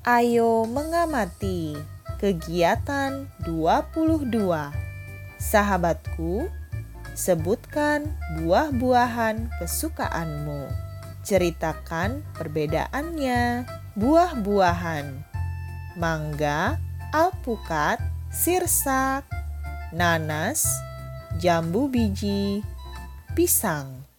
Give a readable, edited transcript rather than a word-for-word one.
Ayo mengamati kegiatan 22. Sahabatku, sebutkan buah-buahan kesukaanmu. Ceritakan perbedaannya. Buah-buahan: mangga, alpukat, sirsak, nanas, jambu biji, pisang.